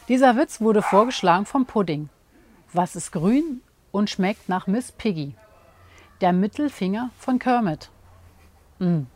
Dieser Witz wurde vorgeschlagen vom Pudding. Was ist grün und schmeckt nach Miss Piggy? Der Mittelfinger von Kermit.